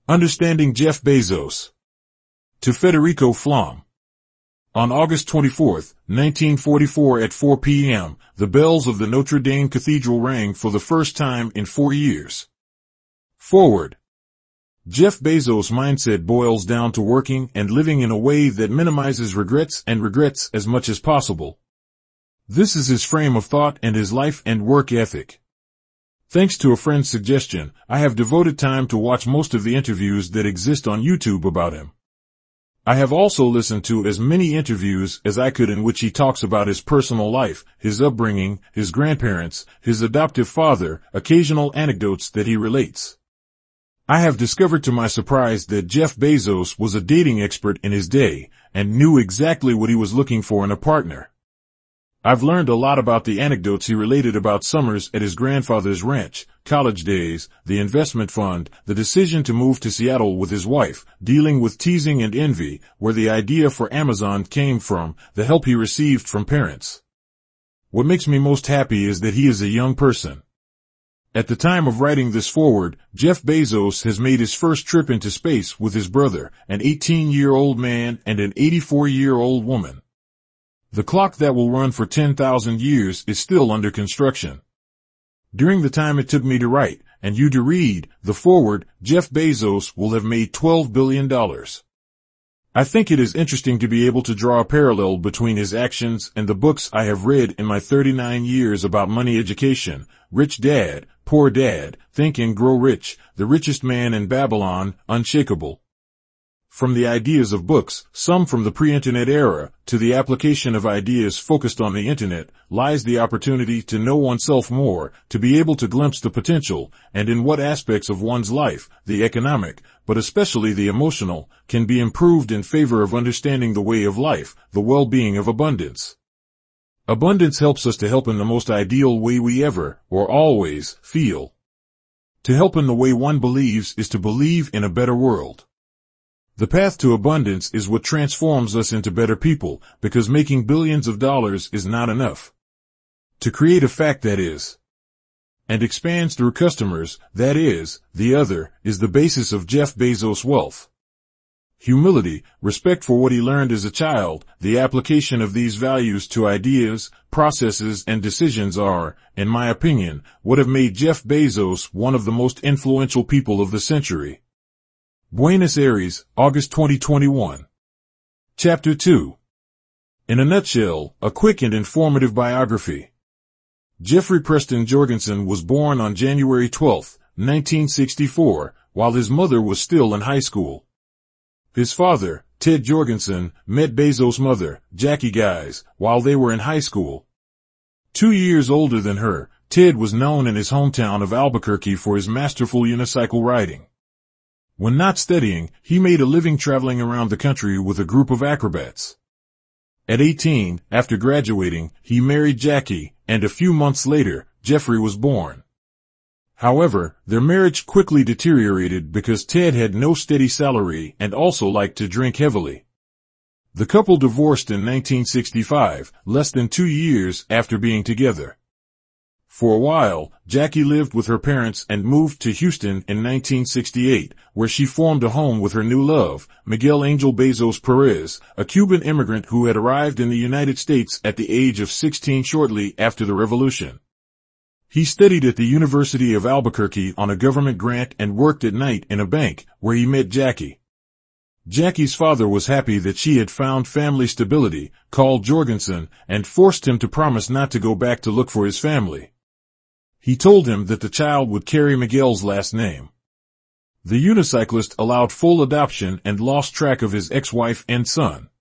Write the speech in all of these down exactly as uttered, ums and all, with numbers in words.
Understanding Jeff Bezos. To Federico Flom. On August twenty-fourth, nineteen forty-four at four p m, the bells of the Notre Dame Cathedral rang for the first time in four years. Forward. Jeff Bezos' mindset boils down to working and living in a way that minimizes regrets and regrets as much as possible. This is his frame of thought and his life and work ethic. Thanks to a friend's suggestion, I have devoted time to watch most of the interviews that exist on YouTube about him. I have also listened to as many interviews as I could in which he talks about his personal life, his upbringing, his grandparents, his adoptive father, occasional anecdotes that he relates. I have discovered to my surprise that Jeff Bezos was a dating expert in his day and knew exactly what he was looking for in a partner. I've learned a lot about the anecdotes he related about summers at his grandfather's ranch, college days, the investment fund, the decision to move to Seattle with his wife, dealing with teasing and envy, where the idea for Amazon came from, the help he received from parents. What makes me most happy is that he is a young person. At the time of writing this forward, Jeff Bezos has made his first trip into space with his brother, an eighteen-year-old man and an eighty-four-year-old woman. The clock that will run for ten thousand years is still under construction. During the time it took me to write, and you to read, the forward, Jeff Bezos will have made twelve billion dollars. I think it is interesting to be able to draw a parallel between his actions and the books I have read in my thirty-nine years about money education, Rich Dad, Poor Dad, Think and Grow Rich, The Richest Man in Babylon, Unshakable. From the ideas of books, some from the pre-internet era, to the application of ideas focused on the internet, lies the opportunity to know oneself more, to be able to glimpse the potential, and in what aspects of one's life, the economic, but especially the emotional, can be improved in favor of understanding the way of life, the well-being of abundance. Abundance helps us to help in the most ideal way we ever, or always, feel. To help in the way one believes is to believe in a better world. The path to abundance is what transforms us into better people, because making billions of dollars is not enough. To create a fact that is, and expands through customers, that is, the other, is the basis of Jeff Bezos' wealth. Humility, respect for what he learned as a child, the application of these values to ideas, processes, and decisions are, in my opinion, what have made Jeff Bezos one of the most influential people of the century. Buenos Aires, August twenty twenty-one. Chapter two. In a nutshell, a quick and informative biography. Jeffrey Preston Jorgensen was born on January twelfth, nineteen sixty-four, while his mother was still in high school. His father, Ted Jorgensen, met Bezos' mother, Jackie Guys, while they were in high school. Two years older than her, Ted was known in his hometown of Albuquerque for his masterful unicycle riding. When not studying, he made a living traveling around the country with a group of acrobats. At eighteen, after graduating, he married Jackie, and a few months later, Jeffrey was born. However, their marriage quickly deteriorated because Ted had no steady salary and also liked to drink heavily. The couple divorced in nineteen sixty-five, less than two years after being together. For a while, Jackie lived with her parents and moved to Houston in nineteen sixty-eight, where she formed a home with her new love, Miguel Angel Bezos Perez, a Cuban immigrant who had arrived in the United States at the age of sixteen shortly after the revolution. He studied at the University of Albuquerque on a government grant and worked at night in a bank, where he met Jackie. Jackie's father was happy that she had found family stability, called Jorgensen, and forced him to promise not to go back to look for his family. He told him that the child would carry Miguel's last name. The unicyclist allowed full adoption and lost track of his ex-wife and son.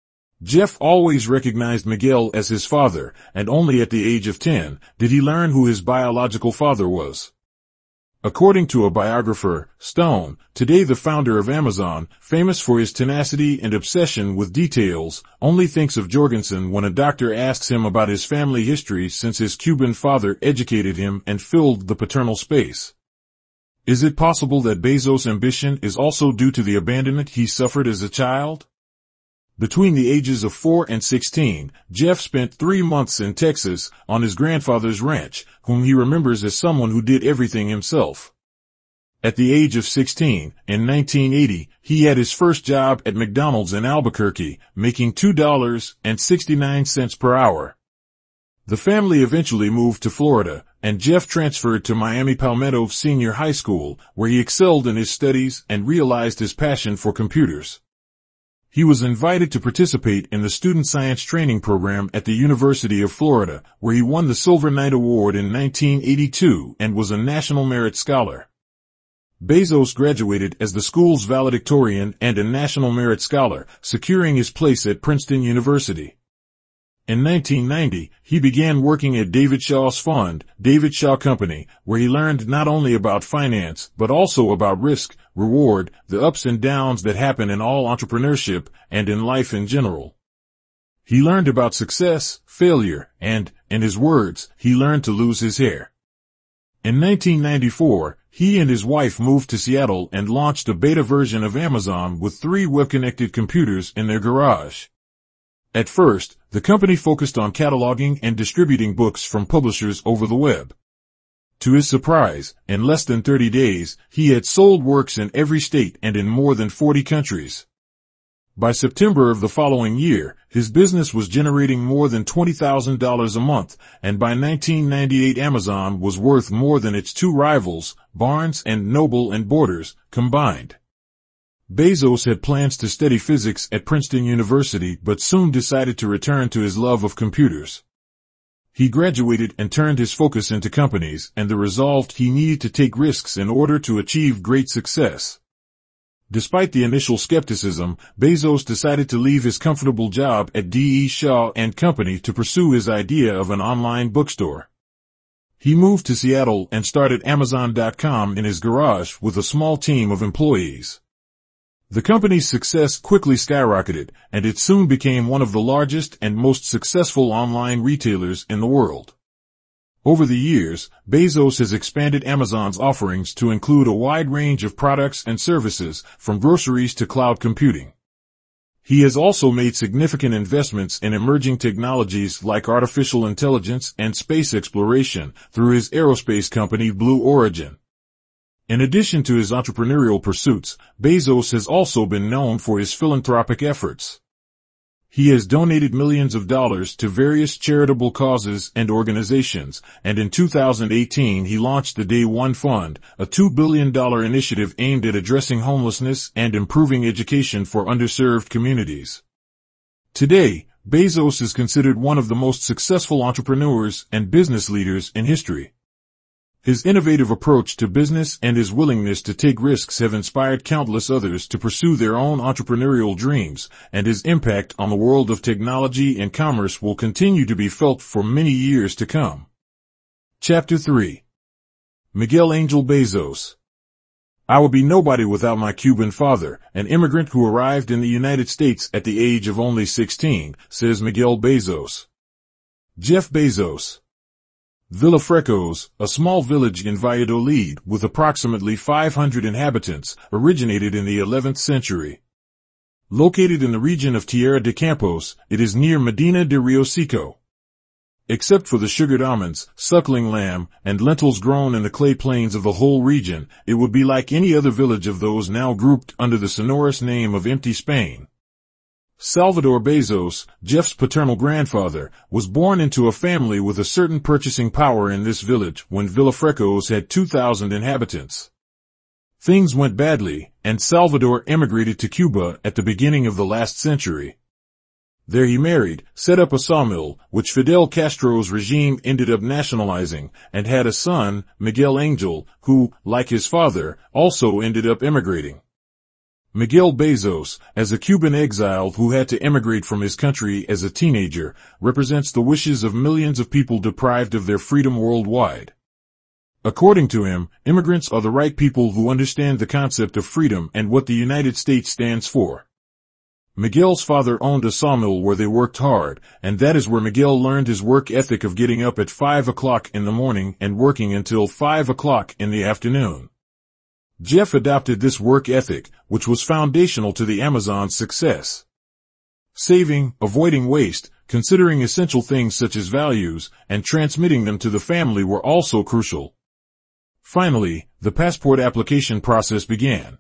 Jeff always recognized Miguel as his father, and only at the age of ten did he learn who his biological father was. According to a biographer, Stone, today the founder of Amazon, famous for his tenacity and obsession with details, only thinks of Jorgensen when a doctor asks him about his family history since his Cuban father educated him and filled the paternal space. Is it possible that Bezos' ambition is also due to the abandonment he suffered as a child? Between the ages of four and sixteen, Jeff spent three months in Texas on his grandfather's ranch, whom he remembers as someone who did everything himself. At the age of sixteen, in nineteen eighty, he had his first job at McDonald's in Albuquerque, making two dollars and sixty-nine cents per hour. The family eventually moved to Florida, and Jeff transferred to Miami Palmetto Senior High School, where he excelled in his studies and realized his passion for computers. He was invited to participate in the Student Science Training Program at the University of Florida, where he won the Silver Knight Award in nineteen eighty-two and was a National Merit Scholar. Bezos graduated as the school's valedictorian and a National Merit Scholar, securing his place at Princeton University. In nineteen ninety, he began working at David Shaw's fund, David Shaw Company, where he learned not only about finance, but also about risk, reward, the ups and downs that happen in all entrepreneurship and in life in general. He learned about success, failure, and, in his words, he learned to lose his hair. In nineteen ninety-four, he and his wife moved to Seattle and launched a beta version of Amazon with three web-connected computers in their garage. At first, the company focused on cataloging and distributing books from publishers over the web. To his surprise, in less than thirty days, he had sold works in every state and in more than forty countries. By September of the following year, his business was generating more than twenty thousand dollars a month, and by nineteen ninety-eight Amazon was worth more than its two rivals, Barnes and Noble and Borders, combined. Bezos had plans to study physics at Princeton University but soon decided to return to his love of computers. He graduated and turned his focus into companies and the resolve he needed to take risks in order to achieve great success. Despite the initial skepticism, Bezos decided to leave his comfortable job at D E Shaw and Company to pursue his idea of an online bookstore. He moved to Seattle and started Amazon dot com in his garage with a small team of employees. The company's success quickly skyrocketed, and it soon became one of the largest and most successful online retailers in the world. Over the years, Bezos has expanded Amazon's offerings to include a wide range of products and services, from groceries to cloud computing. He has also made significant investments in emerging technologies like artificial intelligence and space exploration through his aerospace company Blue Origin. In addition to his entrepreneurial pursuits, Bezos has also been known for his philanthropic efforts. He has donated millions of dollars to various charitable causes and organizations, and in two thousand eighteen he launched the Day One Fund, a two billion dollars initiative aimed at addressing homelessness and improving education for underserved communities. Today, Bezos is considered one of the most successful entrepreneurs and business leaders in history. His innovative approach to business and his willingness to take risks have inspired countless others to pursue their own entrepreneurial dreams, and his impact on the world of technology and commerce will continue to be felt for many years to come. Chapter three. Miguel Angel Bezos. I would be nobody without my Cuban father, an immigrant who arrived in the United States at the age of only sixteen, says Miguel Bezos. Jeff Bezos. Villafrecos, a small village in Valladolid with approximately five hundred inhabitants, originated in the eleventh century. Located in the region of Tierra de Campos, it is near Medina de Rio Seco. Except for the sugared almonds, suckling lamb, and lentils grown in the clay plains of the whole region, it would be like any other village of those now grouped under the sonorous name of empty Spain. Salvador Bezos, Jeff's paternal grandfather, was born into a family with a certain purchasing power in this village when Villafrecos had two thousand inhabitants. Things went badly, and Salvador emigrated to Cuba at the beginning of the last century. There he married, set up a sawmill, which Fidel Castro's regime ended up nationalizing, and had a son, Miguel Angel, who, like his father, also ended up emigrating. Miguel Bezos, as a Cuban exile who had to emigrate from his country as a teenager, represents the wishes of millions of people deprived of their freedom worldwide. According to him, immigrants are the right people who understand the concept of freedom and what the United States stands for. Miguel's father owned a sawmill where they worked hard, and that is where Miguel learned his work ethic of getting up at five o'clock in the morning and working until five o'clock in the afternoon. Jeff adopted this work ethic, which was foundational to the Amazon's success. Saving, avoiding waste, considering essential things such as values, and transmitting them to the family were also crucial. Finally, the passport application process began.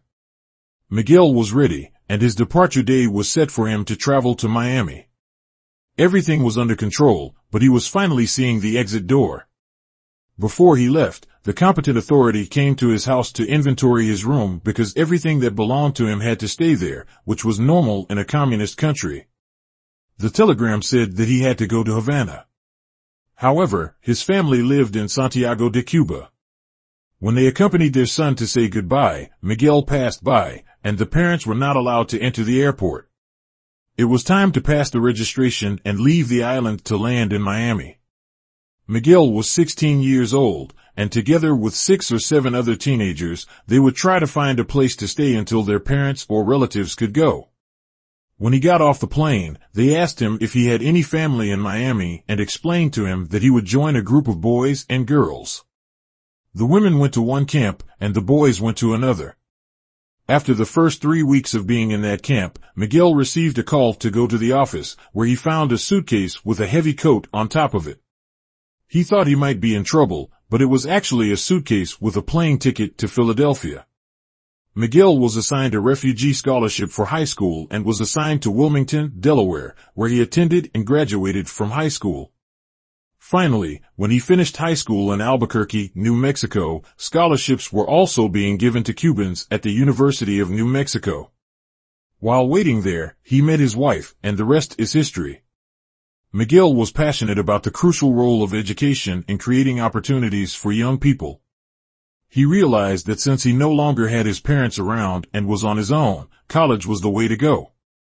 Miguel was ready, and his departure day was set for him to travel to Miami. Everything was under control, but he was finally seeing the exit door. Before he left, the competent authority came to his house to inventory his room because everything that belonged to him had to stay there, which was normal in a communist country. The telegram said that he had to go to Havana. However, his family lived in Santiago de Cuba. When they accompanied their son to say goodbye, Miguel passed by, and the parents were not allowed to enter the airport. It was time to pass the registration and leave the island to land in Miami. Miguel was sixteen years old, and together with six or seven other teenagers, they would try to find a place to stay until their parents or relatives could go. When he got off the plane, they asked him if he had any family in Miami and explained to him that he would join a group of boys and girls. The women went to one camp, and the boys went to another. After the first three weeks of being in that camp, Miguel received a call to go to the office, where he found a suitcase with a heavy coat on top of it. He thought he might be in trouble, but it was actually a suitcase with a plane ticket to Philadelphia. Miguel was assigned a refugee scholarship for high school and was assigned to Wilmington, Delaware, where he attended and graduated from high school. Finally, when he finished high school in Albuquerque, New Mexico, scholarships were also being given to Cubans at the University of New Mexico. While waiting there, he met his wife, and the rest is history. Miguel was passionate about the crucial role of education in creating opportunities for young people. He realized that since he no longer had his parents around and was on his own, college was the way to go.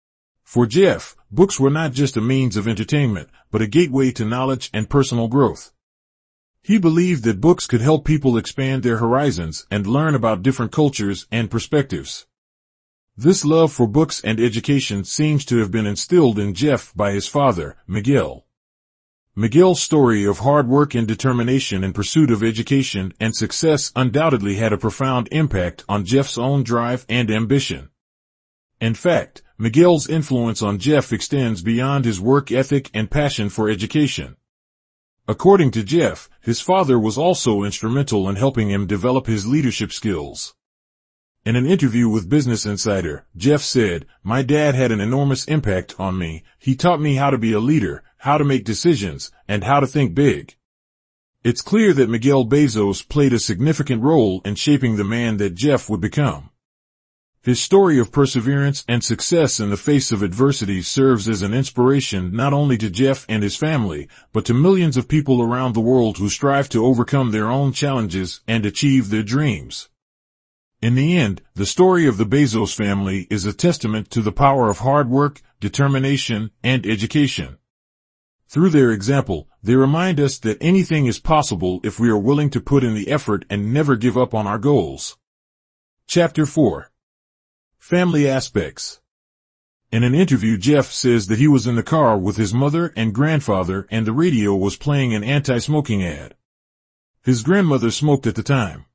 For Jeff, books were not just a means of entertainment, but a gateway to knowledge and personal growth. He believed that books could help people expand their horizons and learn about different cultures and perspectives. This love for books and education seems to have been instilled in Jeff by his father, Miguel. Miguel's story of hard work and determination in pursuit of education and success undoubtedly had a profound impact on Jeff's own drive and ambition. In fact, Miguel's influence on Jeff extends beyond his work ethic and passion for education. According to Jeff, his father was also instrumental in helping him develop his leadership skills. In an interview with Business Insider, Jeff said, "My dad had an enormous impact on me. He taught me how to be a leader, how to make decisions, and how to think big." It's clear that Miguel Bezos played a significant role in shaping the man that Jeff would become. His story of perseverance and success in the face of adversity serves as an inspiration not only to Jeff and his family, but to millions of people around the world who strive to overcome their own challenges and achieve their dreams. In the end, the story of the Bezos family is a testament to the power of hard work, determination, and education. Through their example, they remind us that anything is possible if we are willing to put in the effort and never give up on our goals. Chapter four. Family Aspects. In an interview, Jeff says that he was in the car with his mother and grandfather and the radio was playing an anti-smoking ad. His grandmother smoked at the time.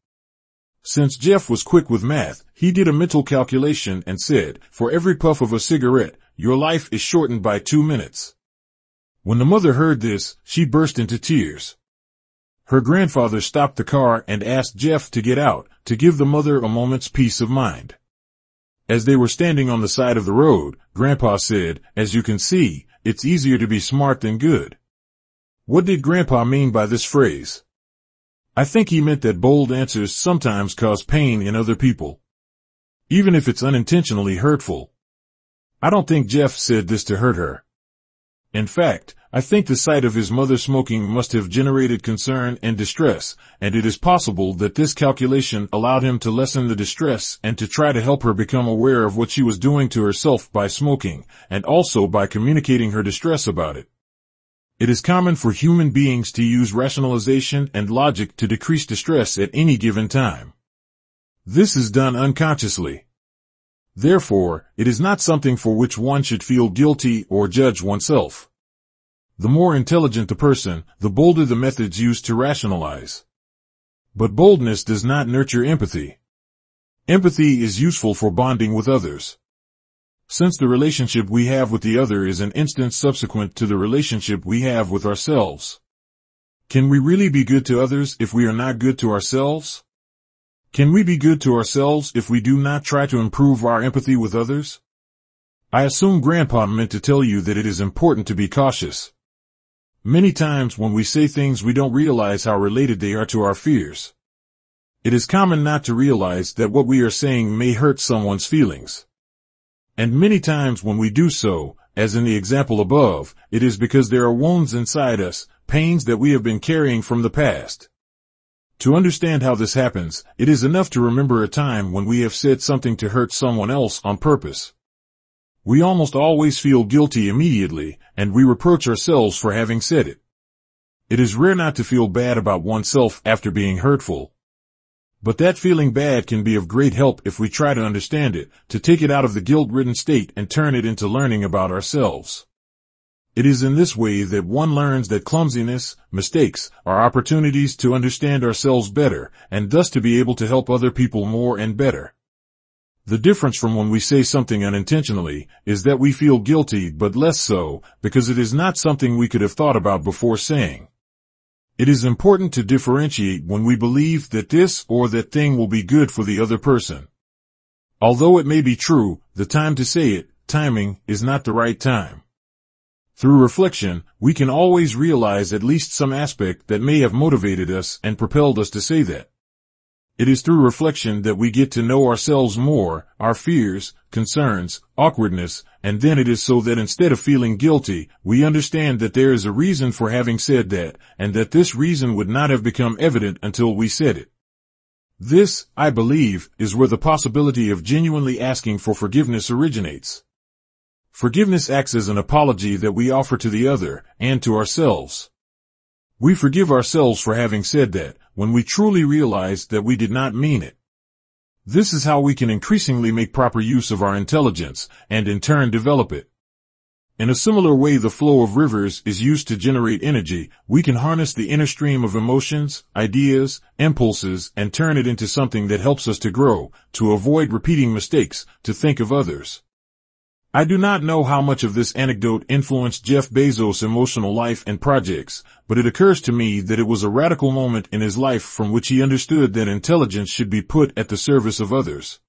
Since Jeff was quick with math, he did a mental calculation and said, "For every puff of a cigarette, your life is shortened by two minutes." When the mother heard this, she burst into tears. Her grandfather stopped the car and asked Jeff to get out, to give the mother a moment's peace of mind. As they were standing on the side of the road, Grandpa said, "As you can see, it's easier to be smart than good." What did Grandpa mean by this phrase? I think he meant that bold answers sometimes cause pain in other people, even if it's unintentionally hurtful. I don't think Jeff said this to hurt her. In fact, I think the sight of his mother smoking must have generated concern and distress, and it is possible that this calculation allowed him to lessen the distress and to try to help her become aware of what she was doing to herself by smoking, and also by communicating her distress about it. It is common for human beings to use rationalization and logic to decrease distress at any given time. This is done unconsciously. Therefore, it is not something for which one should feel guilty or judge oneself. The more intelligent the person, the bolder the methods used to rationalize. But boldness does not nurture empathy. Empathy is useful for bonding with others. Since the relationship we have with the other is an instant subsequent to the relationship we have with ourselves. Can we really be good to others if we are not good to ourselves? Can we be good to ourselves if we do not try to improve our empathy with others? I assume Grandpa meant to tell you that it is important to be cautious. Many times when we say things, we don't realize how related they are to our fears. It is common not to realize that what we are saying may hurt someone's feelings. And many times when we do so, as in the example above, it is because there are wounds inside us, pains that we have been carrying from the past. To understand how this happens, it is enough to remember a time when we have said something to hurt someone else on purpose. We almost always feel guilty immediately, and we reproach ourselves for having said it. It is rare not to feel bad about oneself after being hurtful. But that feeling bad can be of great help if we try to understand it, to take it out of the guilt-ridden state and turn it into learning about ourselves. It is in this way that one learns that clumsiness, mistakes, are opportunities to understand ourselves better, and thus to be able to help other people more and better. The difference from when we say something unintentionally is that we feel guilty, but less so, because it is not something we could have thought about before saying. It is important to differentiate when we believe that this or that thing will be good for the other person. Although it may be true, the time to say it, timing, is not the right time. Through reflection, we can always realize at least some aspect that may have motivated us and propelled us to say that. It is through reflection that we get to know ourselves more, our fears, concerns, awkwardness, and then it is so that instead of feeling guilty, we understand that there is a reason for having said that, and that this reason would not have become evident until we said it. This, I believe, is where the possibility of genuinely asking for forgiveness originates. Forgiveness acts as an apology that we offer to the other, and to ourselves. We forgive ourselves for having said that, when we truly realize that we did not mean it. This is how we can increasingly make proper use of our intelligence, and in turn develop it. In a similar way the flow of rivers is used to generate energy, we can harness the inner stream of emotions, ideas, impulses, and turn it into something that helps us to grow, to avoid repeating mistakes, to think of others. I do not know how much of this anecdote influenced Jeff Bezos' emotional life and projects, but it occurs to me that it was a radical moment in his life from which he understood that intelligence should be put at the service of others.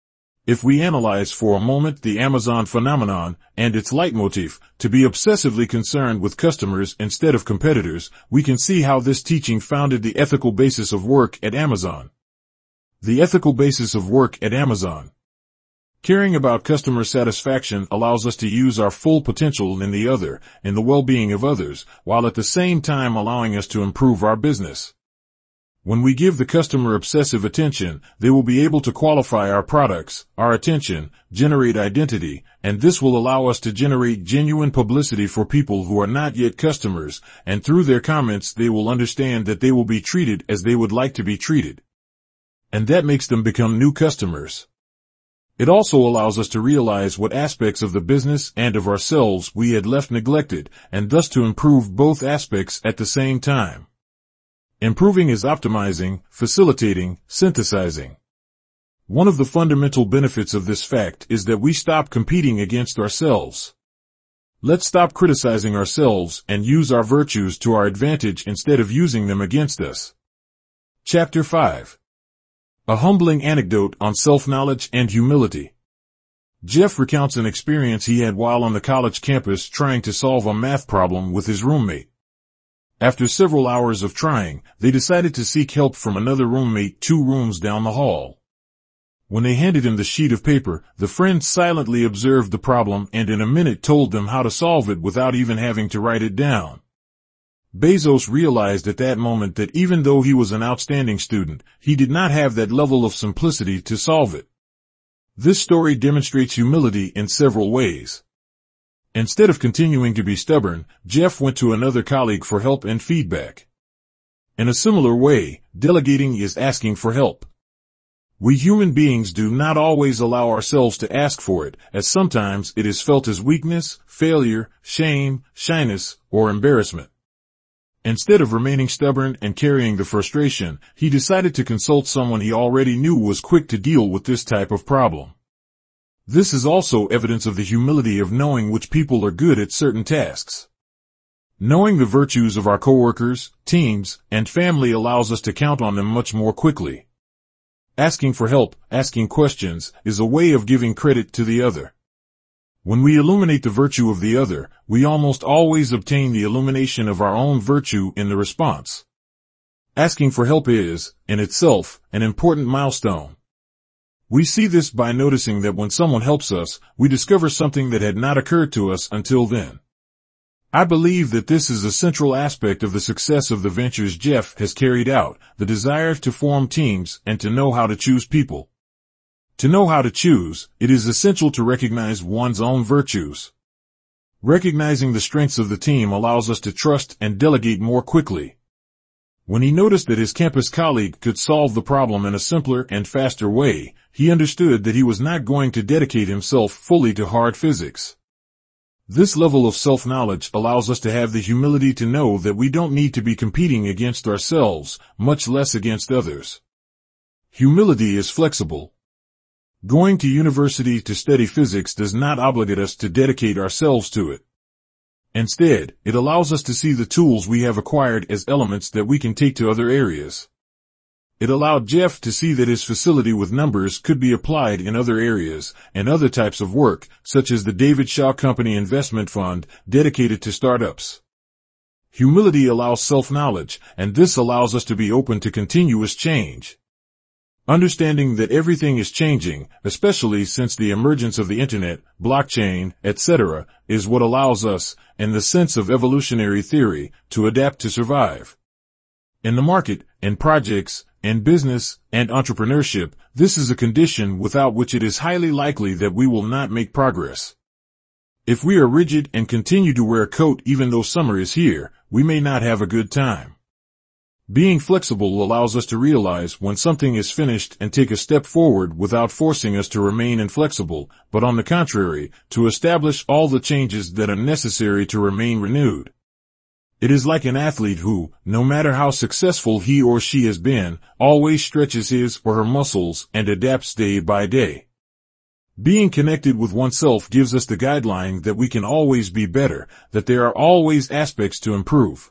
If we analyze for a moment the Amazon phenomenon and its leitmotif, to be obsessively concerned with customers instead of competitors, we can see how this teaching founded the ethical basis of work at Amazon. The ethical basis of work at Amazon. Caring about customer satisfaction allows us to use our full potential in the other, in the well-being of others, while at the same time allowing us to improve our business. When we give the customer obsessive attention, they will be able to qualify our products, our attention, generate identity, and this will allow us to generate genuine publicity for people who are not yet customers, and through their comments they will understand that they will be treated as they would like to be treated. And that makes them become new customers. It also allows us to realize what aspects of the business and of ourselves we had left neglected, and thus to improve both aspects at the same time. Improving is optimizing, facilitating, synthesizing. One of the fundamental benefits of this fact is that we stop competing against ourselves. Let's stop criticizing ourselves and use our virtues to our advantage instead of using them against us. Chapter five. A humbling anecdote on self-knowledge and humility. Jeff recounts an experience he had while on the college campus trying to solve a math problem with his roommate. After several hours of trying, they decided to seek help from another roommate two rooms down the hall. When they handed him the sheet of paper, the friend silently observed the problem and in a minute told them how to solve it without even having to write it down. Bezos realized at that moment that even though he was an outstanding student, he did not have that level of simplicity to solve it. This story demonstrates humility in several ways. Instead of continuing to be stubborn, Jeff went to another colleague for help and feedback. In a similar way, delegating is asking for help. We human beings do not always allow ourselves to ask for it, as sometimes it is felt as weakness, failure, shame, shyness, or embarrassment. Instead of remaining stubborn and carrying the frustration, he decided to consult someone he already knew was quick to deal with this type of problem. This is also evidence of the humility of knowing which people are good at certain tasks. Knowing the virtues of our coworkers, teams, and family allows us to count on them much more quickly. Asking for help, asking questions, is a way of giving credit to the other. When we illuminate the virtue of the other, we almost always obtain the illumination of our own virtue in the response. Asking for help is, in itself, an important milestone. We see this by noticing that when someone helps us, we discover something that had not occurred to us until then. I believe that this is a central aspect of the success of the ventures Jeff has carried out, the desire to form teams and to know how to choose people. To know how to choose, it is essential to recognize one's own virtues. Recognizing the strengths of the team allows us to trust and delegate more quickly. When he noticed that his campus colleague could solve the problem in a simpler and faster way, he understood that he was not going to dedicate himself fully to hard physics. This level of self-knowledge allows us to have the humility to know that we don't need to be competing against ourselves, much less against others. Humility is flexible. Going to university to study physics does not obligate us to dedicate ourselves to it. Instead, it allows us to see the tools we have acquired as elements that we can take to other areas. It allowed Jeff to see that his facility with numbers could be applied in other areas and other types of work, such as the David Shaw Company Investment Fund, dedicated to startups. Humility allows self-knowledge, and this allows us to be open to continuous change. Understanding that everything is changing, especially since the emergence of the internet, blockchain, et cetera, is what allows us, in the sense of evolutionary theory, to adapt to survive. In the market, in projects, in business, and entrepreneurship, this is a condition without which it is highly likely that we will not make progress. If we are rigid and continue to wear a coat even though summer is here, we may not have a good time. Being flexible allows us to realize when something is finished and take a step forward without forcing us to remain inflexible, but on the contrary, to establish all the changes that are necessary to remain renewed. It is like an athlete who, no matter how successful he or she has been, always stretches his or her muscles and adapts day by day. Being connected with oneself gives us the guideline that we can always be better, that there are always aspects to improve.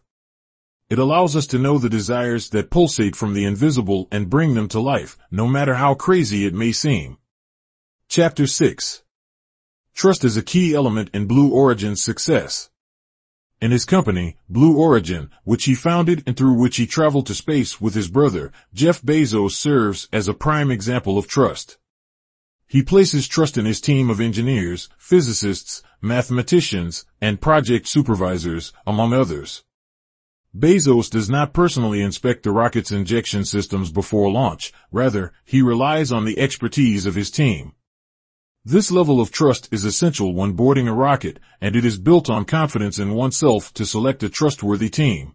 It allows us to know the desires that pulsate from the invisible and bring them to life, no matter how crazy it may seem. Chapter six. Trust is a key element in Blue Origin's success. In his company, Blue Origin, which he founded and through which he traveled to space with his brother, Jeff Bezos, serves as a prime example of trust. He places trust in his team of engineers, physicists, mathematicians, and project supervisors, among others. Bezos does not personally inspect the rocket's injection systems before launch, rather, he relies on the expertise of his team. This level of trust is essential when boarding a rocket, and it is built on confidence in oneself to select a trustworthy team.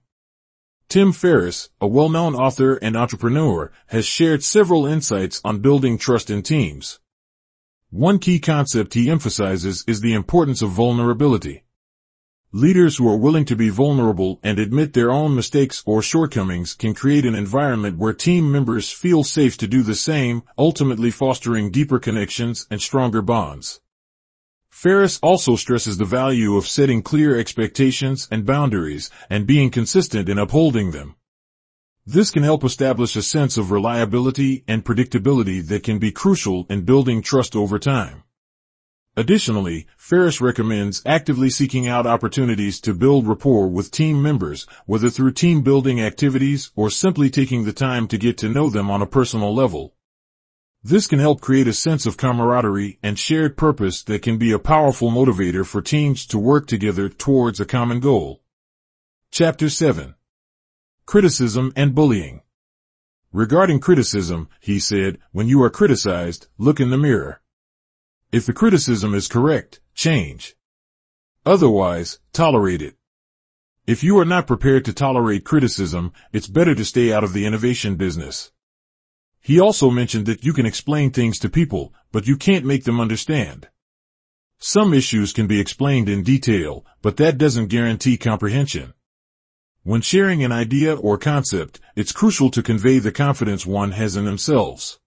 Tim Ferriss, a well-known author and entrepreneur, has shared several insights on building trust in teams. One key concept he emphasizes is the importance of vulnerability. Leaders who are willing to be vulnerable and admit their own mistakes or shortcomings can create an environment where team members feel safe to do the same, ultimately fostering deeper connections and stronger bonds. Ferriss also stresses the value of setting clear expectations and boundaries and being consistent in upholding them. This can help establish a sense of reliability and predictability that can be crucial in building trust over time. Additionally, Ferriss recommends actively seeking out opportunities to build rapport with team members, whether through team-building activities or simply taking the time to get to know them on a personal level. This can help create a sense of camaraderie and shared purpose that can be a powerful motivator for teams to work together towards a common goal. Chapter seven. Criticism and Bullying. Regarding criticism, he said, when you are criticized, look in the mirror. If the criticism is correct, change. Otherwise, tolerate it. If you are not prepared to tolerate criticism, it's better to stay out of the innovation business. He also mentioned that you can explain things to people, but you can't make them understand. Some issues can be explained in detail, but that doesn't guarantee comprehension. When sharing an idea or concept, it's crucial to convey the confidence one has in themselves.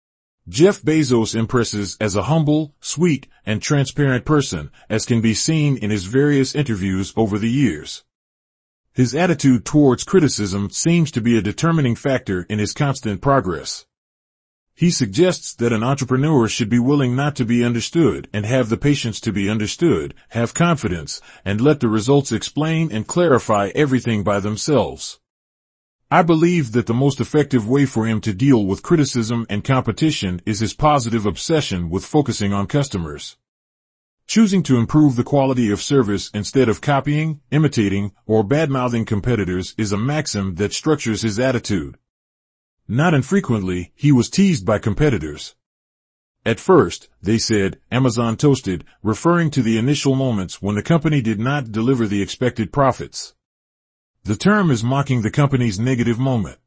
Jeff Bezos impresses as a humble, sweet, and transparent person, as can be seen in his various interviews over the years. His attitude towards criticism seems to be a determining factor in his constant progress. He suggests that an entrepreneur should be willing not to be understood and have the patience to be understood, have confidence, and let the results explain and clarify everything by themselves. I believe that the most effective way for him to deal with criticism and competition is his positive obsession with focusing on customers. Choosing to improve the quality of service instead of copying, imitating, or bad-mouthing competitors is a maxim that structures his attitude. Not infrequently, he was teased by competitors. At first, they said, Amazon toasted, referring to the initial moments when the company did not deliver the expected profits. The term is mocking the company's negative moment.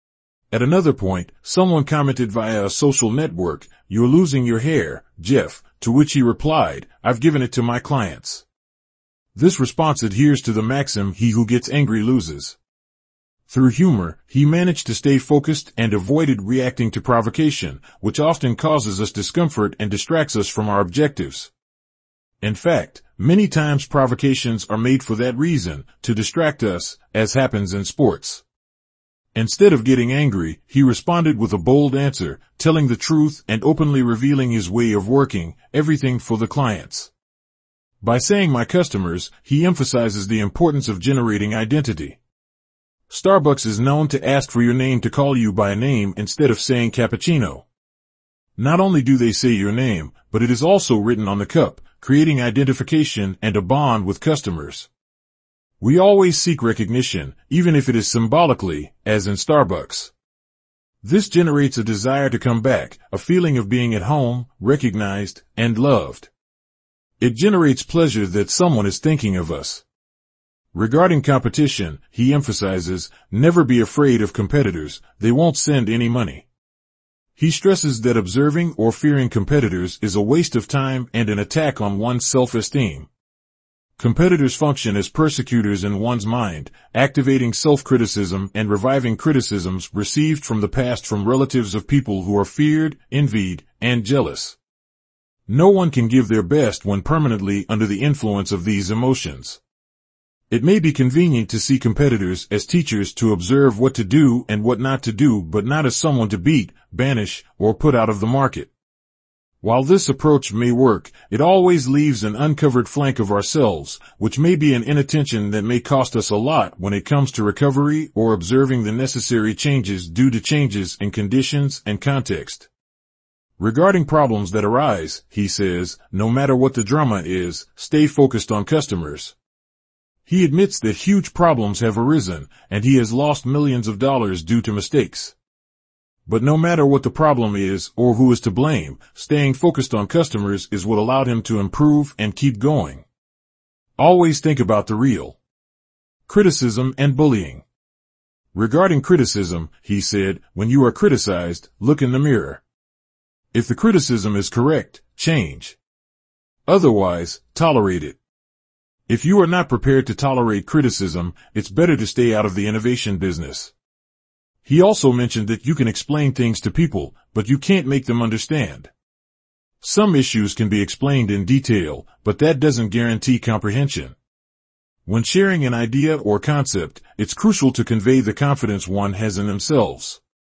At another point, someone commented via a social network, "You're losing your hair, Jeff," to which he replied, "I've given it to my clients." This response adheres to the maxim, "He who gets angry loses." Through humor, he managed to stay focused and avoided reacting to provocation, which often causes us discomfort and distracts us from our objectives. In fact, many times provocations are made for that reason, to distract us, as happens in sports. Instead of getting angry, he responded with a bold answer, telling the truth and openly revealing his way of working, everything for the clients. By saying "my customers," he emphasizes the importance of generating identity. Starbucks is known to ask for your name to call you by name instead of saying cappuccino. Not only do they say your name, but it is also written on the cup, creating identification and a bond with customers. We always seek recognition, even if it is symbolically, as in Starbucks. This generates a desire to come back, a feeling of being at home, recognized, and loved. It generates pleasure that someone is thinking of us. Regarding competition, he emphasizes, never be afraid of competitors, they won't send any money. He stresses that observing or fearing competitors is a waste of time and an attack on one's self-esteem. Competitors function as persecutors in one's mind, activating self-criticism and reviving criticisms received from the past from relatives of people who are feared, envied, and jealous. No one can give their best when permanently under the influence of these emotions. It may be convenient to see competitors as teachers to observe what to do and what not to do, but not as someone to beat, banish, or put out of the market. While this approach may work, it always leaves an uncovered flank of ourselves, which may be an inattention that may cost us a lot when it comes to recovery or observing the necessary changes due to changes in conditions and context. Regarding problems that arise, he says, no matter what the drama is, stay focused on customers. He admits that huge problems have arisen, and he has lost millions of dollars due to mistakes. But no matter what the problem is or who is to blame, staying focused on customers is what allowed him to improve and keep going. Always think about the real. Criticism and bullying. Regarding criticism, he said, when you are criticized, look in the mirror. If the criticism is correct, change. Otherwise, tolerate it. If you are not prepared to tolerate criticism, it's better to stay out of the innovation business. He also mentioned that you can explain things to people, but you can't make them understand. Some issues can be explained in detail, but that doesn't guarantee comprehension. When sharing an idea or concept, it's crucial to convey the confidence one has in themselves.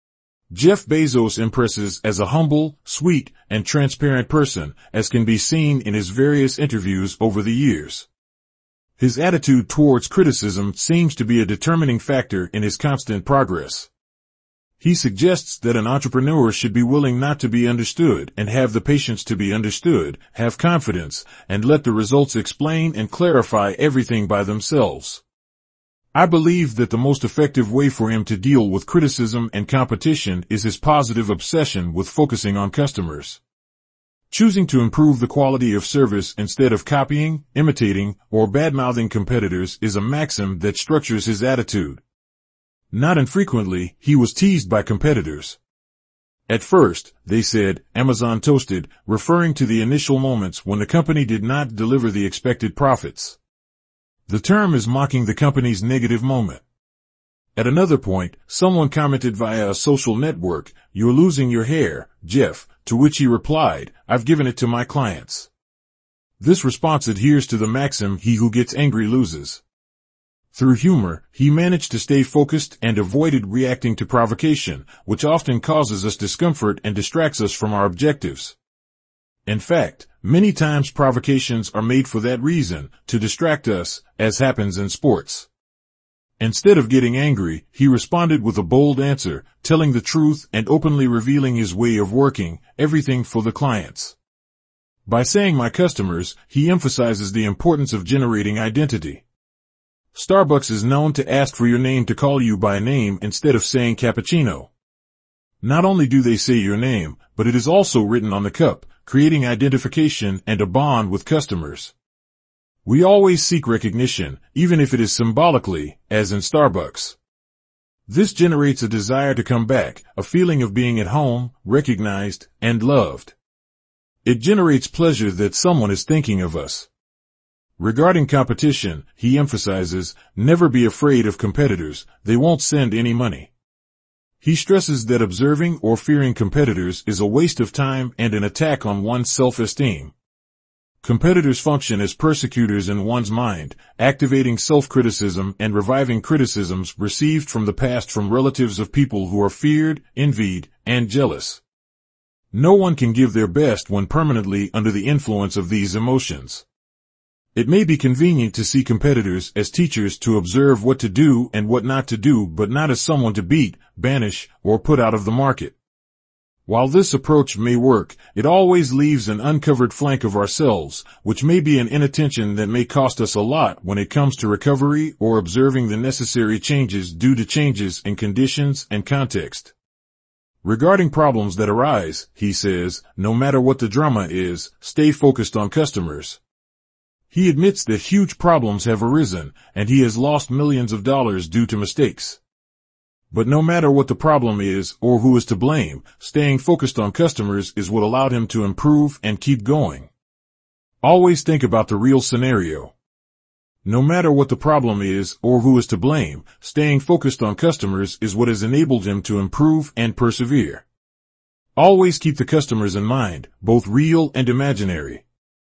Jeff Bezos impresses as a humble, sweet, and transparent person, as can be seen in his various interviews over the years. His attitude towards criticism seems to be a determining factor in his constant progress. He suggests that an entrepreneur should be willing not to be understood and have the patience to be understood, have confidence, and let the results explain and clarify everything by themselves. I believe that the most effective way for him to deal with criticism and competition is his positive obsession with focusing on customers. Choosing to improve the quality of service instead of copying, imitating, or bad-mouthing competitors is a maxim that structures his attitude. Not infrequently, he was teased by competitors. At first, they said, Amazon toasted, referring to the initial moments when the company did not deliver the expected profits. The term is mocking the company's negative moment. At another point, someone commented via a social network, "You're losing your hair, Jeff," to which he replied, "I've given it to my clients." This response adheres to the maxim, "He who gets angry loses." Through humor, he managed to stay focused and avoided reacting to provocation, which often causes us discomfort and distracts us from our objectives. In fact, many times provocations are made for that reason, to distract us, as happens in sports. Instead of getting angry, he responded with a bold answer, telling the truth and openly revealing his way of working, everything for the clients. By saying my customers, he emphasizes the importance of generating identity. Starbucks is known to ask for your name to call you by name instead of saying cappuccino. Not only do they say your name, but it is also written on the cup, creating identification and a bond with customers. We always seek recognition, even if it is symbolically, as in Starbucks. This generates a desire to come back, a feeling of being at home, recognized, and loved. It generates pleasure that someone is thinking of us. Regarding competition, he emphasizes, never be afraid of competitors, they won't send any money. He stresses that observing or fearing competitors is a waste of time and an attack on one's self-esteem. Competitors function as persecutors in one's mind, activating self-criticism and reviving criticisms received from the past from relatives of people who are feared, envied, and jealous. No one can give their best when permanently under the influence of these emotions. It may be convenient to see competitors as teachers to observe what to do and what not to do, but not as someone to beat, banish, or put out of the market. While this approach may work, it always leaves an uncovered flank of ourselves, which may be an inattention that may cost us a lot when it comes to recovery or observing the necessary changes due to changes in conditions and context. Regarding problems that arise, he says, no matter what the drama is, stay focused on customers. He admits that huge problems have arisen, and he has lost millions of dollars due to mistakes. But no matter what the problem is or who is to blame, staying focused on customers is what allowed him to improve and keep going. Always think about the real scenario. No matter what the problem is or who is to blame, staying focused on customers is what has enabled him to improve and persevere. Always keep the customers in mind, both real and imaginary.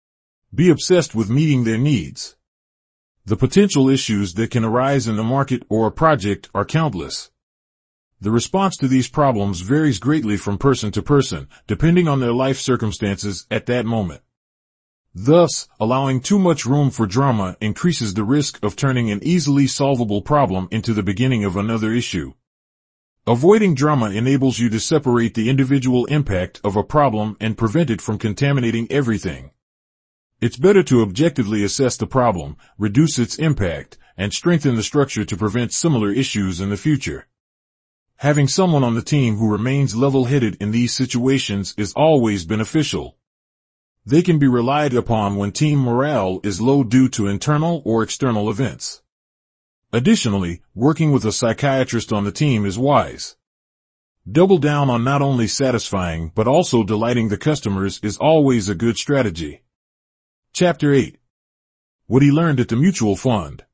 Be obsessed with meeting their needs. The potential issues that can arise in the market or a project are countless. The response to these problems varies greatly from person to person, depending on their life circumstances at that moment. Thus, allowing too much room for drama increases the risk of turning an easily solvable problem into the beginning of another issue. Avoiding drama enables you to separate the individual impact of a problem and prevent it from contaminating everything. It's better to objectively assess the problem, reduce its impact, and strengthen the structure to prevent similar issues in the future. Having someone on the team who remains level-headed in these situations is always beneficial. They can be relied upon when team morale is low due to internal or external events. Additionally, working with a psychiatrist on the team is wise. Double down on not only satisfying but also delighting the customers is always a good strategy. Chapter eight. What he learned at the mutual fund.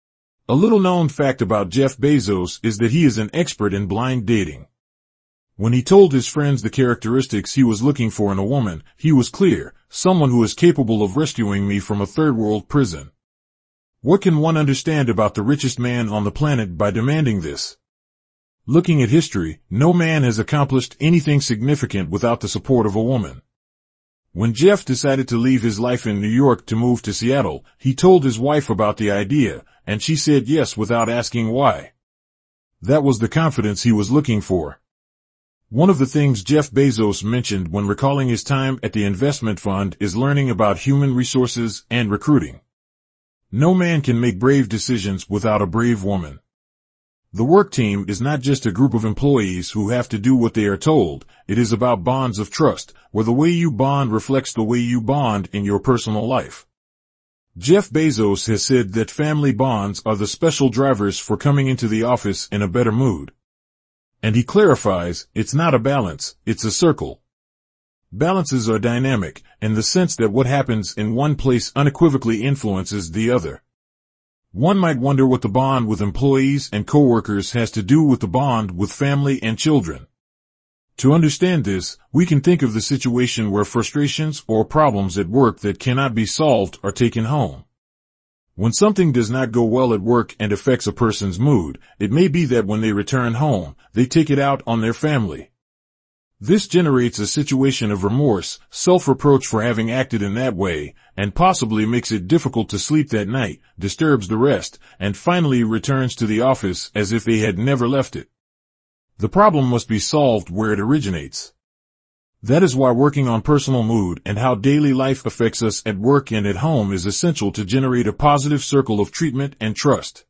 A little-known fact about Jeff Bezos is that he is an expert in blind dating. When he told his friends the characteristics he was looking for in a woman, he was clear, someone who is capable of rescuing me from a third-world prison. What can one understand about the richest man on the planet by demanding this? Looking at history, no man has accomplished anything significant without the support of a woman. When Jeff decided to leave his life in New York to move to Seattle, he told his wife about the idea, and she said yes without asking why. That was the confidence he was looking for. One of the things Jeff Bezos mentioned when recalling his time at the investment fund is learning about human resources and recruiting. No man can make brave decisions without a brave woman. The work team is not just a group of employees who have to do what they are told, it is about bonds of trust, where the way you bond reflects the way you bond in your personal life. Jeff Bezos has said that family bonds are the special drivers for coming into the office in a better mood. And he clarifies, it's not a balance, it's a circle. Balances are dynamic, in the sense that what happens in one place unequivocally influences the other. One might wonder what the bond with employees and coworkers has to do with the bond with family and children. To understand this, we can think of the situation where frustrations or problems at work that cannot be solved are taken home. When something does not go well at work and affects a person's mood, it may be that when they return home, they take it out on their family. This generates a situation of remorse, self-reproach for having acted in that way, and possibly makes it difficult to sleep that night, disturbs the rest, and finally returns to the office as if they had never left it. The problem must be solved where it originates. That is why working on personal mood and how daily life affects us at work and at home is essential to generate a positive circle of treatment and trust.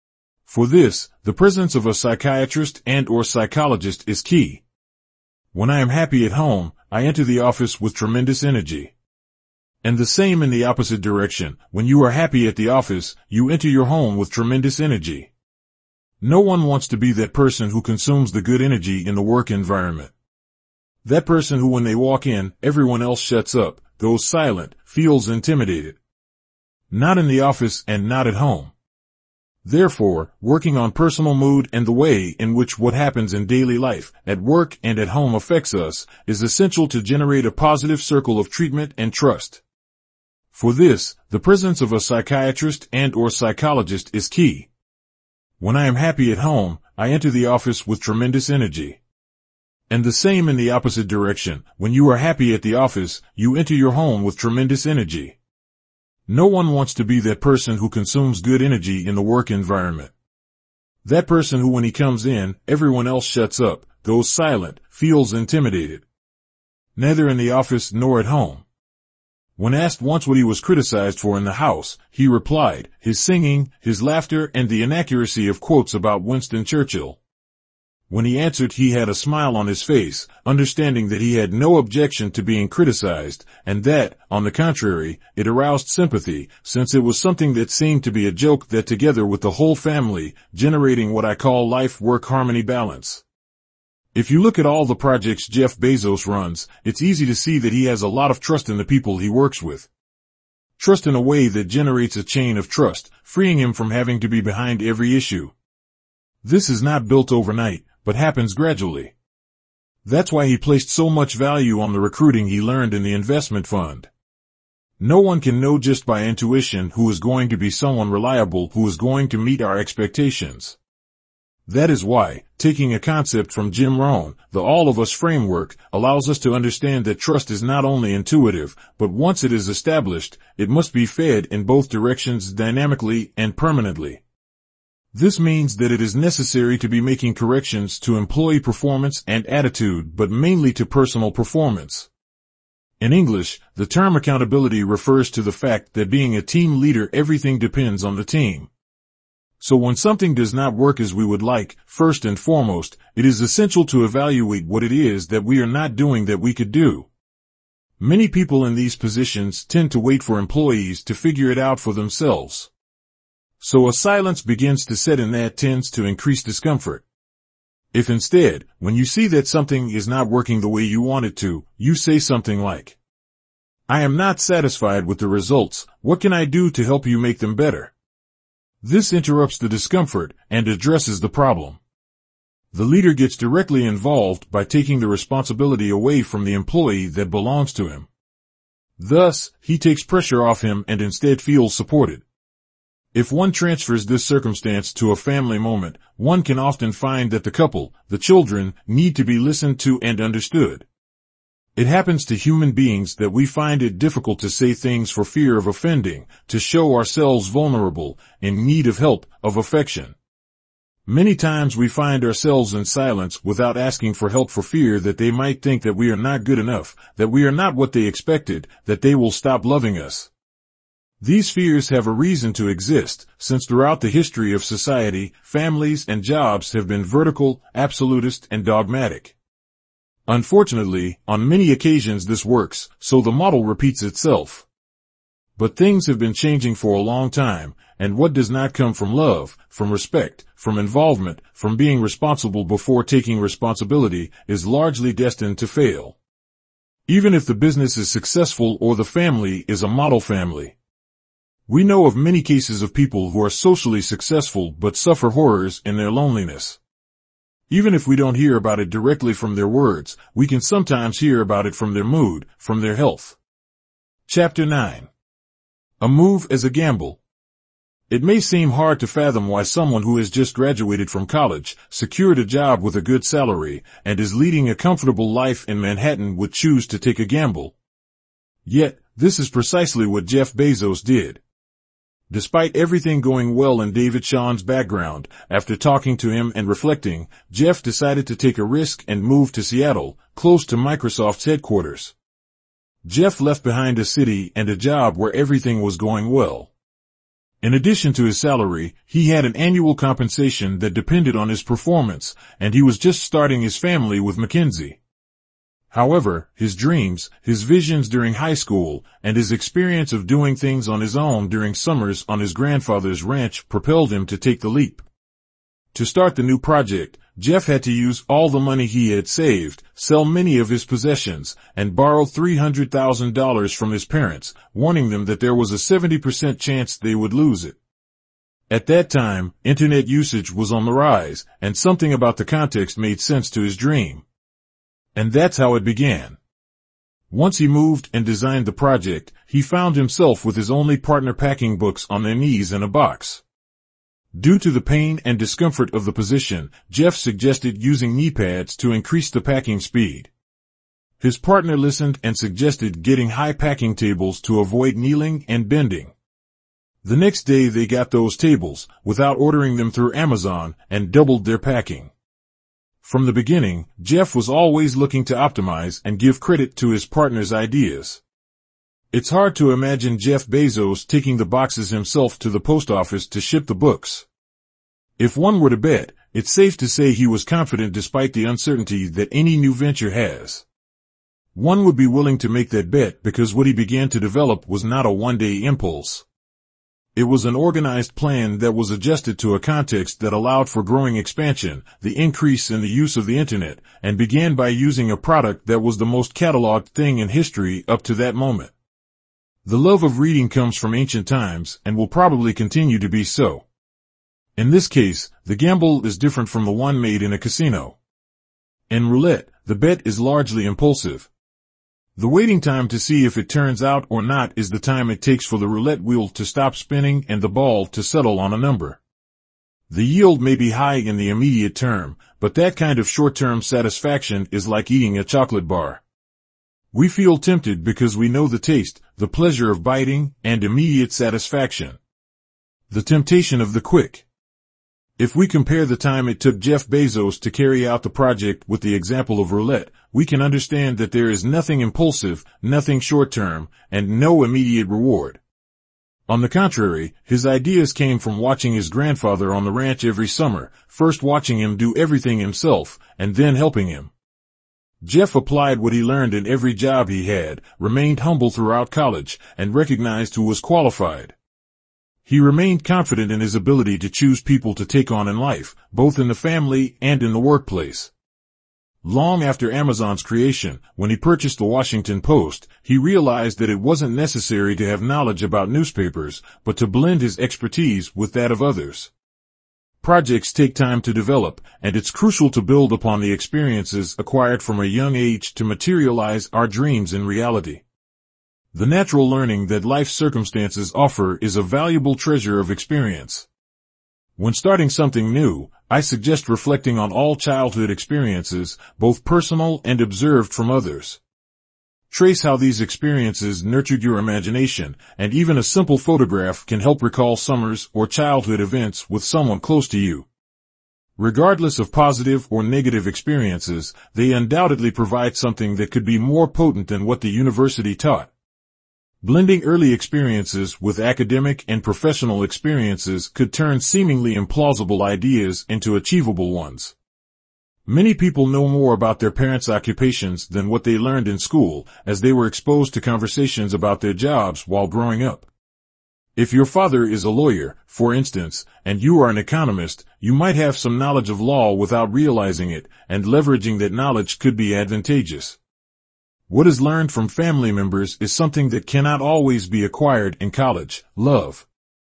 For this, the presence of a psychiatrist and or psychologist is key. When I am happy at home, I enter the office with tremendous energy. And the same in the opposite direction. When you are happy at the office, you enter your home with tremendous energy. No one wants to be that person who consumes the good energy in the work environment. That person who when they walk in, everyone else shuts up, goes silent, feels intimidated. Not in the office and not at home. Therefore, working on personal mood and the way in which what happens in daily life, at work and at home affects us, is essential to generate a positive circle of treatment and trust. For this, the presence of a psychiatrist and or psychologist is key. When I am happy at home, I enter the office with tremendous energy. And the same in the opposite direction. When you are happy at the office, you enter your home with tremendous energy. No one wants to be that person who consumes good energy in the work environment. That person who when he comes in, everyone else shuts up, goes silent, feels intimidated. Neither in the office nor at home. When asked once what he was criticized for in the house, he replied, his singing, his laughter, and the inaccuracy of quotes about Winston Churchill. When he answered, he had a smile on his face, understanding that he had no objection to being criticized, and that, on the contrary, it aroused sympathy, since it was something that seemed to be a joke that together with the whole family, generating what I call life-work harmony balance. If you look at all the projects Jeff Bezos runs, it's easy to see that he has a lot of trust in the people he works with. Trust in a way that generates a chain of trust, freeing him from having to be behind every issue. This is not built overnight, but happens gradually. That's why he placed so much value on the recruiting he learned in the investment fund. No one can know just by intuition who is going to be someone reliable who is going to meet our expectations. That is why, taking a concept from Jim Rohn, the All of Us framework, allows us to understand that trust is not only intuitive, but once it is established, it must be fed in both directions dynamically and permanently. This means that it is necessary to be making corrections to employee performance and attitude, but mainly to personal performance. In English, the term accountability refers to the fact that being a team leader, everything depends on the team. So when something does not work as we would like, first and foremost, it is essential to evaluate what it is that we are not doing that we could do. Many people in these positions tend to wait for employees to figure it out for themselves. So a silence begins to set in that tends to increase discomfort. If instead, when you see that something is not working the way you want it to, you say something like, I am not satisfied with the results, what can I do to help you make them better? This interrupts the discomfort and addresses the problem. The leader gets directly involved by taking the responsibility away from the employee that belongs to him. Thus, he takes pressure off him and instead feels supported. If one transfers this circumstance to a family moment, one can often find that the couple, the children, need to be listened to and understood. It happens to human beings that we find it difficult to say things for fear of offending, to show ourselves vulnerable, in need of help, of affection. Many times we find ourselves in silence without asking for help for fear that they might think that we are not good enough, that we are not what they expected, that they will stop loving us. These fears have a reason to exist, since throughout the history of society, families and jobs have been vertical, absolutist, and dogmatic. Unfortunately, on many occasions this works, so the model repeats itself. But things have been changing for a long time, and what does not come from love, from respect, from involvement, from being responsible before taking responsibility, is largely destined to fail. Even if the business is successful or the family is a model family. We know of many cases of people who are socially successful but suffer horrors in their loneliness. Even if we don't hear about it directly from their words, we can sometimes hear about it from their mood, from their health. Chapter nine. A move as a gamble. It may seem hard to fathom why someone who has just graduated from college, secured a job with a good salary, and is leading a comfortable life in Manhattan would choose to take a gamble. Yet, this is precisely what Jeff Bezos did. Despite everything going well in David Shawn's background, after talking to him and reflecting, Jeff decided to take a risk and move to Seattle, close to Microsoft's headquarters. Jeff left behind a city and a job where everything was going well. In addition to his salary, he had an annual compensation that depended on his performance, and he was just starting his family with McKinsey. However, his dreams, his visions during high school, and his experience of doing things on his own during summers on his grandfather's ranch propelled him to take the leap. To start the new project, Jeff had to use all the money he had saved, sell many of his possessions, and borrow three hundred thousand dollars from his parents, warning them that there was a seventy percent chance they would lose it. At that time, internet usage was on the rise, and something about the context made sense to his dream. And that's how it began. Once he moved and designed the project, he found himself with his only partner packing books on their knees in a box. Due to the pain and discomfort of the position, Jeff suggested using knee pads to increase the packing speed. His partner listened and suggested getting high packing tables to avoid kneeling and bending. The next day they got those tables, without ordering them through Amazon, and doubled their packing. From the beginning, Jeff was always looking to optimize and give credit to his partner's ideas. It's hard to imagine Jeff Bezos taking the boxes himself to the post office to ship the books. If one were to bet, it's safe to say he was confident despite the uncertainty that any new venture has. One would be willing to make that bet because what he began to develop was not a one-day impulse. It was an organized plan that was adjusted to a context that allowed for growing expansion, the increase in the use of the internet, and began by using a product that was the most cataloged thing in history up to that moment. The love of reading comes from ancient times and will probably continue to be so. In this case, the gamble is different from the one made in a casino. In roulette, the bet is largely impulsive. The waiting time to see if it turns out or not is the time it takes for the roulette wheel to stop spinning and the ball to settle on a number. The yield may be high in the immediate term, but that kind of short-term satisfaction is like eating a chocolate bar. We feel tempted because we know the taste, the pleasure of biting, and immediate satisfaction. The temptation of the quick. If we compare the time it took Jeff Bezos to carry out the project with the example of roulette, we can understand that there is nothing impulsive, nothing short-term, and no immediate reward. On the contrary, his ideas came from watching his grandfather on the ranch every summer, first watching him do everything himself, and then helping him. Jeff applied what he learned in every job he had, remained humble throughout college, and recognized who was qualified. He remained confident in his ability to choose people to take on in life, both in the family and in the workplace. Long after Amazon's creation, when he purchased the Washington Post, he realized that it wasn't necessary to have knowledge about newspapers, but to blend his expertise with that of others. Projects take time to develop, and it's crucial to build upon the experiences acquired from a young age to materialize our dreams in reality. The natural learning that life's circumstances offer is a valuable treasure of experience. When starting something new, I suggest reflecting on all childhood experiences, both personal and observed from others. Trace how these experiences nurtured your imagination, and even a simple photograph can help recall summers or childhood events with someone close to you. Regardless of positive or negative experiences, they undoubtedly provide something that could be more potent than what the university taught. Blending early experiences with academic and professional experiences could turn seemingly implausible ideas into achievable ones. Many people know more about their parents' occupations than what they learned in school, as they were exposed to conversations about their jobs while growing up. If your father is a lawyer, for instance, and you are an economist, you might have some knowledge of law without realizing it, and leveraging that knowledge could be advantageous. What is learned from family members is something that cannot always be acquired in college, love.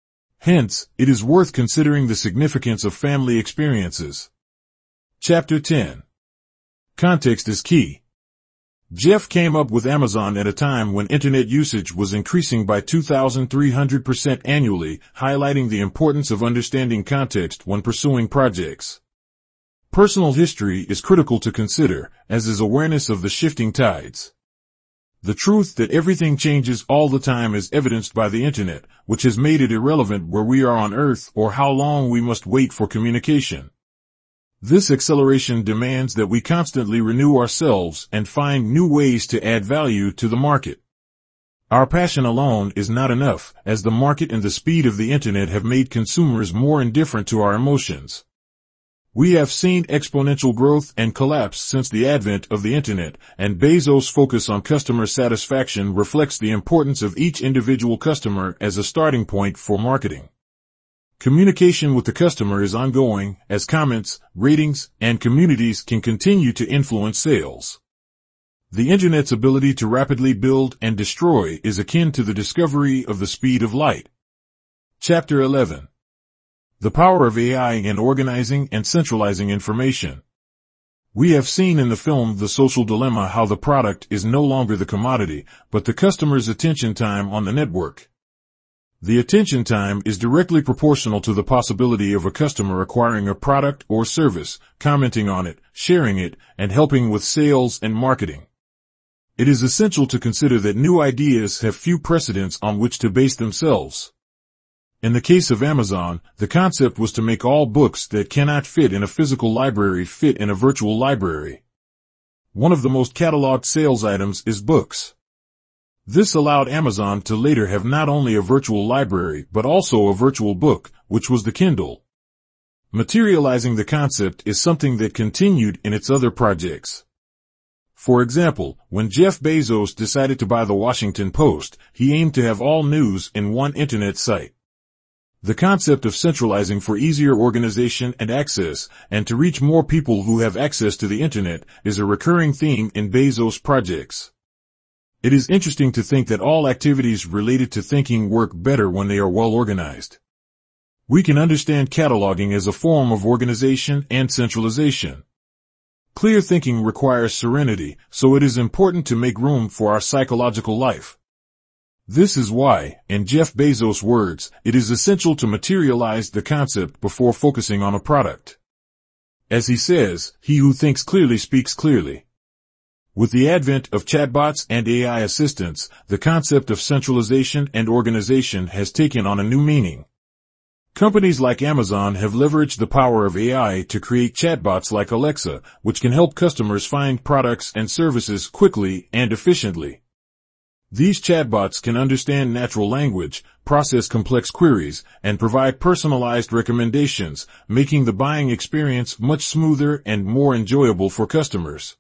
Hence, it is worth considering the significance of family experiences. Chapter ten. Context is key. Jeff came up with Amazon at a time when internet usage was increasing by two thousand three hundred percent annually, highlighting the importance of understanding context when pursuing projects. Personal history is critical to consider, as is awareness of the shifting tides. The truth that everything changes all the time is evidenced by the internet, which has made it irrelevant where we are on Earth or how long we must wait for communication. This acceleration demands that we constantly renew ourselves and find new ways to add value to the market. Our passion alone is not enough, as the market and the speed of the internet have made consumers more indifferent to our emotions. We have seen exponential growth and collapse since the advent of the internet, and Bezos' focus on customer satisfaction reflects the importance of each individual customer as a starting point for marketing. Communication with the customer is ongoing, as comments, ratings, and communities can continue to influence sales. The internet's ability to rapidly build and destroy is akin to the discovery of the speed of light. Chapter eleven. The power of A I in organizing and centralizing information. We have seen in the film The Social Dilemma how the product is no longer the commodity, but the customer's attention time on the network. The attention time is directly proportional to the possibility of a customer acquiring a product or service, commenting on it, sharing it, and helping with sales and marketing. It is essential to consider that new ideas have few precedents on which to base themselves. In the case of Amazon, the concept was to make all books that cannot fit in a physical library fit in a virtual library. One of the most cataloged sales items is books. This allowed Amazon to later have not only a virtual library but also a virtual book, which was the Kindle. Materializing the concept is something that continued in its other projects. For example, when Jeff Bezos decided to buy the Washington Post, he aimed to have all news in one internet site. The concept of centralizing for easier organization and access, and to reach more people who have access to the internet, is a recurring theme in Bezos' projects. It is interesting to think that all activities related to thinking work better when they are well organized. We can understand cataloging as a form of organization and centralization. Clear thinking requires serenity, so it is important to make room for our psychological life. This is why, in Jeff Bezos' words, it is essential to materialize the concept before focusing on a product. As he says, he who thinks clearly speaks clearly. With the advent of chatbots and A I assistants, the concept of centralization and organization has taken on a new meaning. Companies like Amazon have leveraged the power of A I to create chatbots like Alexa, which can help customers find products and services quickly and efficiently. These chatbots can understand natural language, process complex queries, and provide personalized recommendations, making the buying experience much smoother and more enjoyable for customers.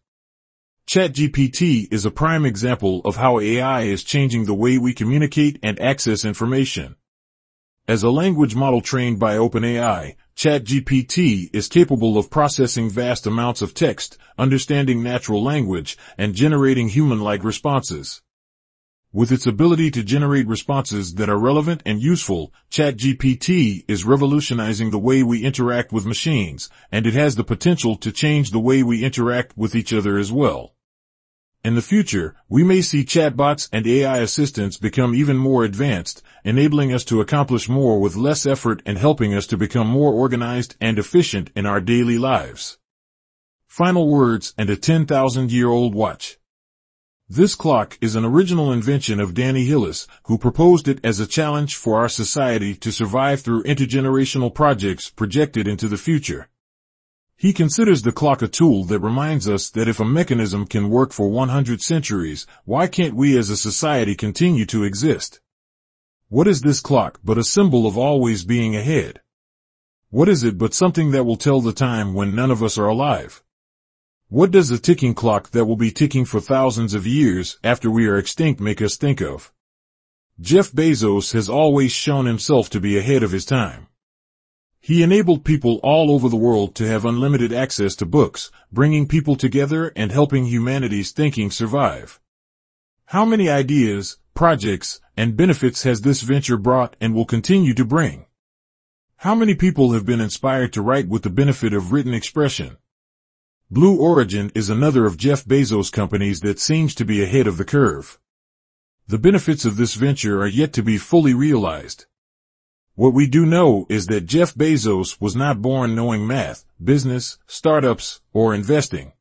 ChatGPT is a prime example of how A I is changing the way we communicate and access information. As a language model trained by OpenAI, ChatGPT is capable of processing vast amounts of text, understanding natural language, and generating human-like responses. With its ability to generate responses that are relevant and useful, ChatGPT is revolutionizing the way we interact with machines, and it has the potential to change the way we interact with each other as well. In the future, we may see chatbots and A I assistants become even more advanced, enabling us to accomplish more with less effort and helping us to become more organized and efficient in our daily lives. Final words and a ten thousand year old watch. This clock is an original invention of Danny Hillis, who proposed it as a challenge for our society to survive through intergenerational projects projected into the future. He considers the clock a tool that reminds us that if a mechanism can work for one hundred centuries, why can't we as a society continue to exist? What is this clock but a symbol of always being ahead? What is it but something that will tell the time when none of us are alive? What does a ticking clock that will be ticking for thousands of years after we are extinct make us think of? Jeff Bezos has always shown himself to be ahead of his time. He enabled people all over the world to have unlimited access to books, bringing people together and helping humanity's thinking survive. How many ideas, projects, and benefits has this venture brought and will continue to bring? How many people have been inspired to write with the benefit of written expression? Blue Origin is another of Jeff Bezos' companies that seems to be ahead of the curve. The benefits of this venture are yet to be fully realized. What we do know is that Jeff Bezos was not born knowing math, business, startups, or investing.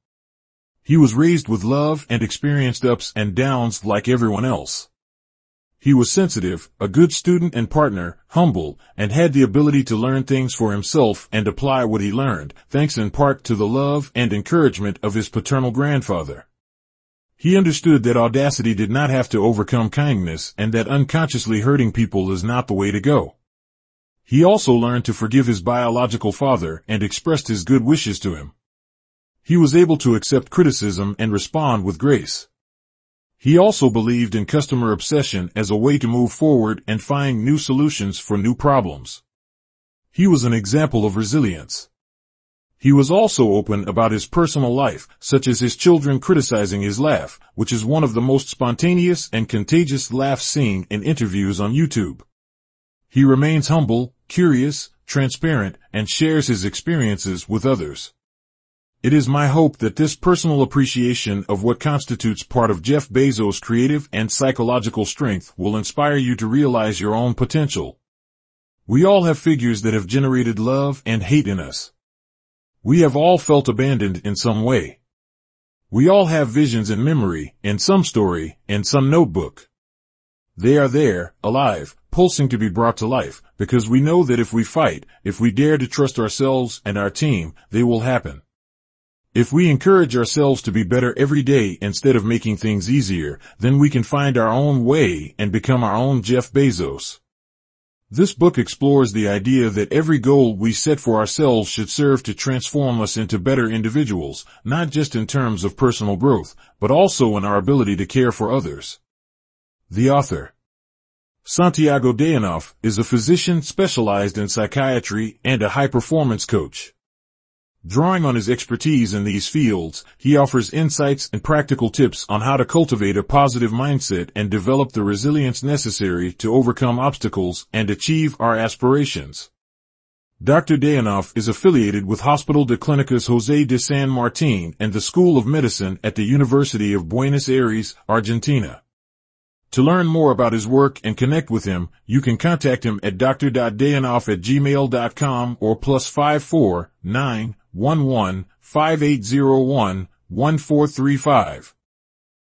He was raised with love and experienced ups and downs like everyone else. He was sensitive, a good student and partner, humble, and had the ability to learn things for himself and apply what he learned, thanks in part to the love and encouragement of his paternal grandfather. He understood that audacity did not have to overcome kindness and that unconsciously hurting people is not the way to go. He also learned to forgive his biological father and expressed his good wishes to him. He was able to accept criticism and respond with grace. He also believed in customer obsession as a way to move forward and find new solutions for new problems. He was an example of resilience. He was also open about his personal life, such as his children criticizing his laugh, which is one of the most spontaneous and contagious laughs seen in interviews on YouTube. He remains humble, curious, transparent, and shares his experiences with others. It is my hope that this personal appreciation of what constitutes part of Jeff Bezos' creative and psychological strength will inspire you to realize your own potential. We all have figures that have generated love and hate in us. We have all felt abandoned in some way. We all have visions in memory, in some story, in some notebook. They are there, alive, pulsing to be brought to life, because we know that if we fight, if we dare to trust ourselves and our team, they will happen. If we encourage ourselves to be better every day instead of making things easier, then we can find our own way and become our own Jeff Bezos. This book explores the idea that every goal we set for ourselves should serve to transform us into better individuals, not just in terms of personal growth, but also in our ability to care for others. The author, Santiago Dayanoff, is a physician specialized in psychiatry and a high-performance coach. Drawing on his expertise in these fields, he offers insights and practical tips on how to cultivate a positive mindset and develop the resilience necessary to overcome obstacles and achieve our aspirations. Doctor Dayanoff is affiliated with Hospital de Clínicas José de San Martín and the School of Medicine at the University of Buenos Aires, Argentina. To learn more about his work and connect with him, you can contact him at d r dot dayanoff at gmail dot com or plus five four nine one one five eight zero one one four three five.